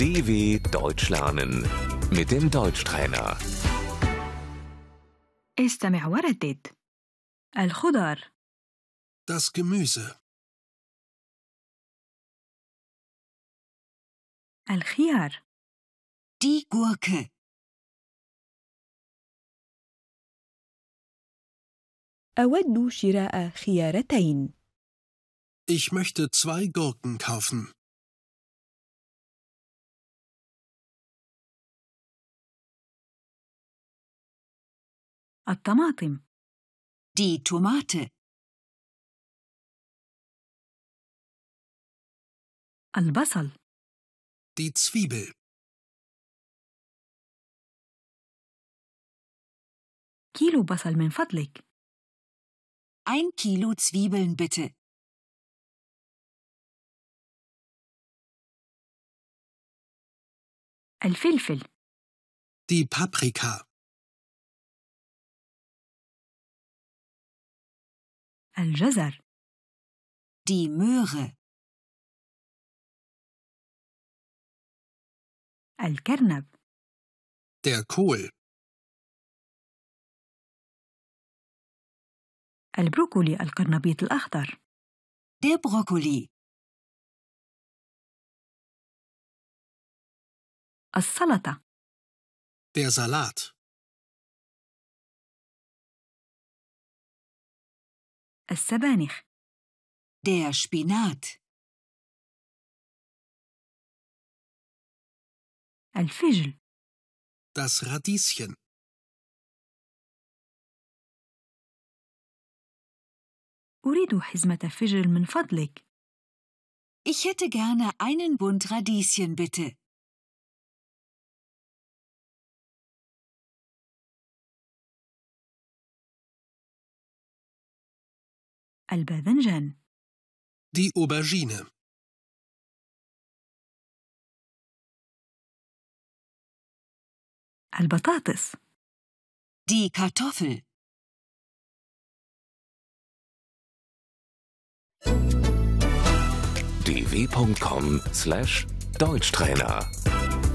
DW Deutsch lernen mit dem Deutschtrainer. استمع وردد. الخضار، Das Gemüse, الخيار، Die Gurke, أود شراء خيارتين. ich möchte 2 Gurken kaufen. الطماطم، die Tomate, البصل، Die Zwiebel, كيلو بصل من فضلك، 1 Kilo Zwiebeln bitte, الفلفل، die Paprika, الجزر، die Möhre, الكرنب، der Kohl, البروكولي القرنبيط الأخضر، der Brokkoli, السلطة، der Salat, السبانخ، der Spinat, الفجل، das Radieschen, أريد حزمة فجل من فضلك. ich hätte gerne einen Bund Radieschen bitte, الباذنجان، die Aubergine, البطاطس، die Kartoffel, dw.com/Deutschtrainer